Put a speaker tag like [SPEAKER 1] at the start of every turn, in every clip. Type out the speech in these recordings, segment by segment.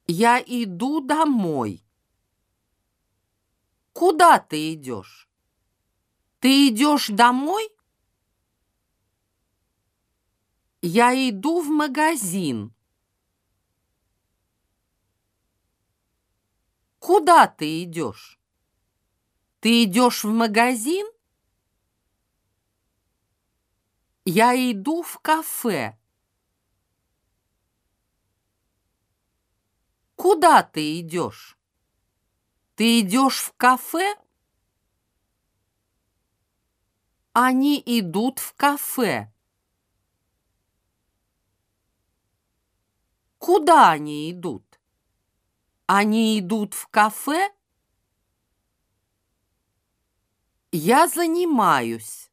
[SPEAKER 1] Я иду домой. Куда ты идешь? Ты идешь домой? Я иду в магазин. Куда ты идешь? Ты идешь в магазин? Я иду в кафе. Куда ты идешь? Ты идешь в кафе? Они идут в кафе. Куда они идут? Они идут в кафе? Я занимаюсь.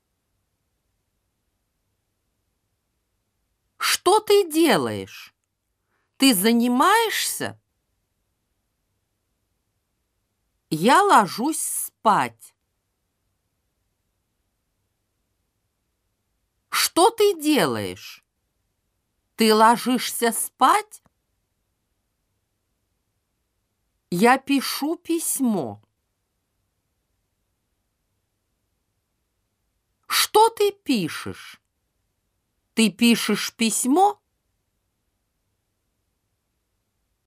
[SPEAKER 1] Что ты делаешь? Ты занимаешься? Я ложусь спать. Что ты делаешь? Ты ложишься спать? Я пишу письмо. Что ты пишешь? Ты пишешь письмо?